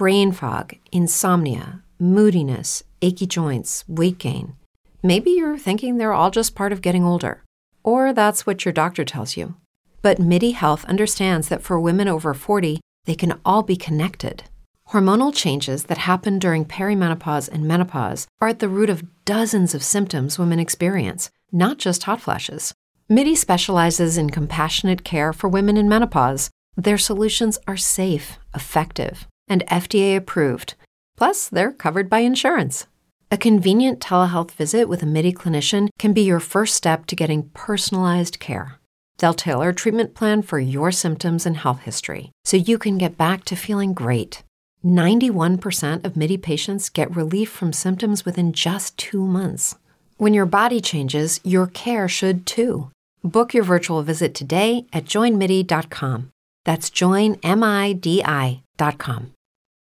brain fog, insomnia, moodiness, achy joints, weight gain. Maybe you're thinking they're all just part of getting older, or that's what your doctor tells you. But MIDI Health understands that for women over 40, they can all be connected. Hormonal changes that happen during perimenopause and menopause are at the root of dozens of symptoms women experience, not just hot flashes. MIDI specializes in compassionate care for women in menopause. Their solutions are safe, effective, and FDA approved. Plus, they're covered by insurance. A convenient telehealth visit with a MIDI clinician can be your first step to getting personalized care. They'll tailor a treatment plan for your symptoms and health history so you can get back to feeling great. 91% of MIDI patients get relief from symptoms within just 2 months. When your body changes, your care should too. Book your virtual visit today at joinmidi.com. That's joinmidi.com.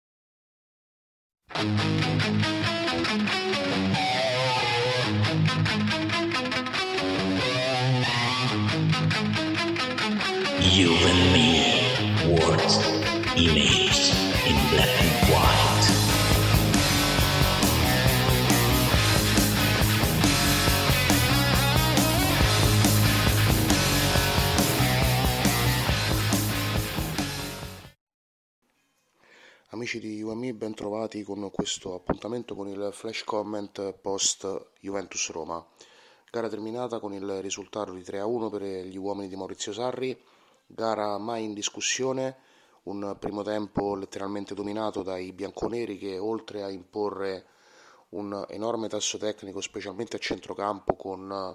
You and me, words, image in black and white. Amici di UMI, ben trovati con questo appuntamento con il flash comment post Juventus Roma. Gara terminata con il risultato di 3-1 per gli uomini di Maurizio Sarri, gara mai in discussione, un primo tempo letteralmente dominato dai bianconeri che oltre a imporre un enorme tasso tecnico, specialmente a centrocampo, con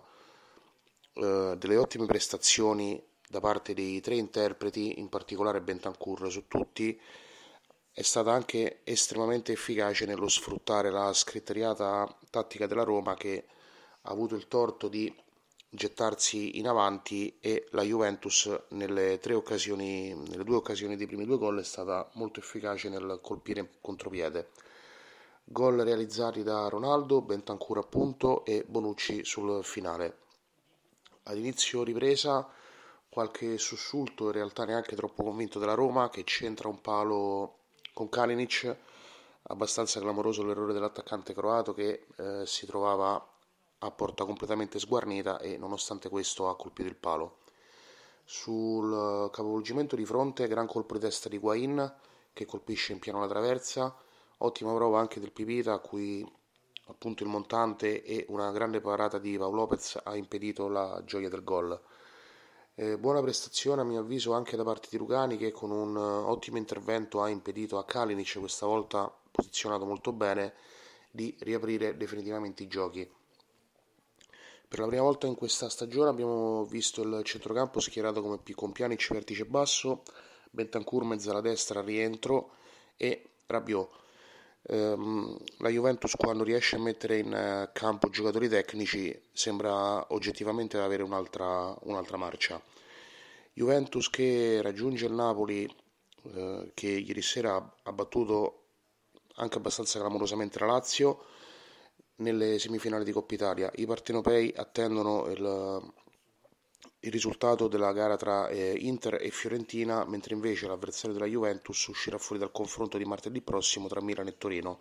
delle ottime prestazioni da parte dei tre interpreti, in particolare Bentancur su tutti, è stata anche estremamente efficace nello sfruttare la scriteriata tattica della Roma, che ha avuto il torto di gettarsi in avanti, e la Juventus nelle due occasioni dei primi due gol è stata molto efficace nel colpire in contropiede. Gol realizzati da Ronaldo, Bentancur appunto e Bonucci sul finale. Ad inizio ripresa qualche sussulto, in realtà neanche troppo convinto, della Roma, che centra un palo con Kalinic, abbastanza clamoroso l'errore dell'attaccante croato che si trovava a porta completamente sguarnita e nonostante questo ha colpito il palo. Sul capovolgimento di fronte, gran colpo di testa di Higuaín che colpisce in pieno la traversa, ottima prova anche del Pipita, a cui appunto il montante e una grande parata di Pau Lopez ha impedito la gioia del gol. Buona prestazione a mio avviso anche da parte di Rugani, che con un ottimo intervento ha impedito a Kalinic, questa volta posizionato molto bene, di riaprire definitivamente i giochi. Per la prima volta in questa stagione abbiamo visto il centrocampo schierato con Pjanic vertice basso, Bentancur mezzala destra rientro e Rabiot. La Juventus, quando riesce a mettere in campo giocatori tecnici, sembra oggettivamente avere un'altra marcia. Juventus che raggiunge il Napoli, che ieri sera ha battuto anche abbastanza clamorosamente la Lazio nelle semifinali di Coppa Italia. I partenopei attendono il risultato della gara tra Inter e Fiorentina, mentre invece l'avversario della Juventus uscirà fuori dal confronto di martedì prossimo tra Milan e Torino.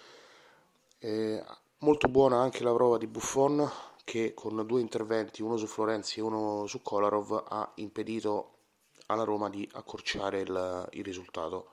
Molto buona anche la prova di Buffon, che con due interventi, uno su Florenzi e uno su Kolarov, ha impedito alla Roma di accorciare il risultato.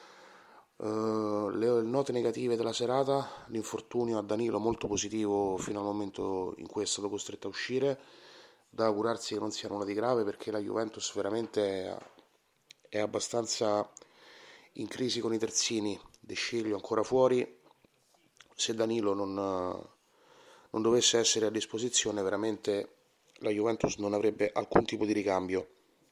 Le note negative della serata: l'infortunio a Danilo molto positivo fino al momento in cui è stato costretto a uscire, da augurarsi che non sia nulla di grave, perché la Juventus veramente è abbastanza in crisi con i terzini. De Sciglio ancora fuori, se Danilo non dovesse essere a disposizione veramente la Juventus non avrebbe alcun tipo di ricambio.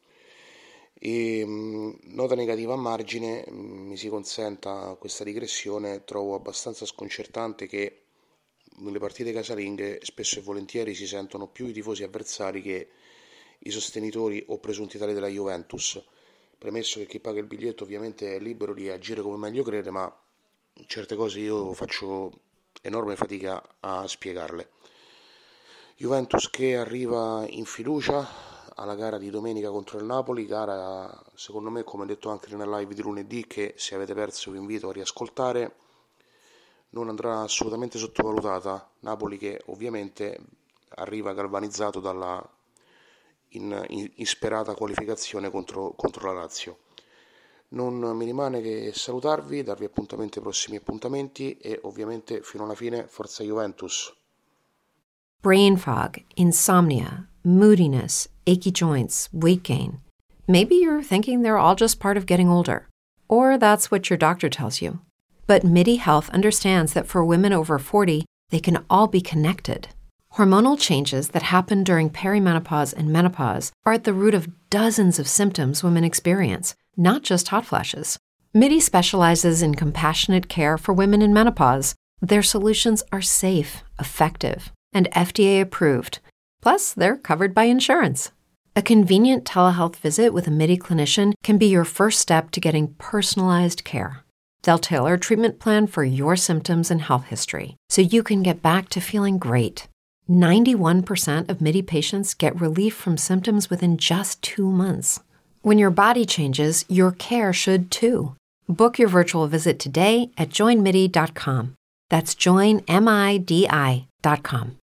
E nota negativa a margine, mi si consenta questa digressione, trovo abbastanza sconcertante che nelle partite casalinghe spesso e volentieri si sentono più i tifosi avversari che i sostenitori o presunti tali della Juventus, premesso che chi paga il biglietto ovviamente è libero di agire come meglio crede, ma certe cose io faccio enorme fatica a spiegarle. Juventus che arriva in fiducia, alla gara di domenica contro il Napoli, gara secondo me, come detto anche nella live di lunedì, che se avete perso vi invito a riascoltare, non andrà assolutamente sottovalutata. Napoli che ovviamente arriva galvanizzato dalla insperata qualificazione contro la Lazio. Non mi rimane che salutarvi, darvi appuntamento ai prossimi appuntamenti e ovviamente fino alla fine forza Juventus. Brain fog, insomnia, moodiness, achy joints, weight gain. Maybe you're thinking they're all just part of getting older, or that's what your doctor tells you. But MIDI Health understands that for women over 40, they can all be connected. Hormonal changes that happen during perimenopause and menopause are at the root of dozens of symptoms women experience, not just hot flashes. MIDI specializes in compassionate care for women in menopause. Their solutions are safe, effective, and FDA approved. Plus, they're covered by insurance. A convenient telehealth visit with a MIDI clinician can be your first step to getting personalized care. They'll tailor a treatment plan for your symptoms and health history so you can get back to feeling great. 91% of MIDI patients get relief from symptoms within just 2 months. When your body changes, your care should too. Book your virtual visit today at joinmidi.com. That's joinmidi.com.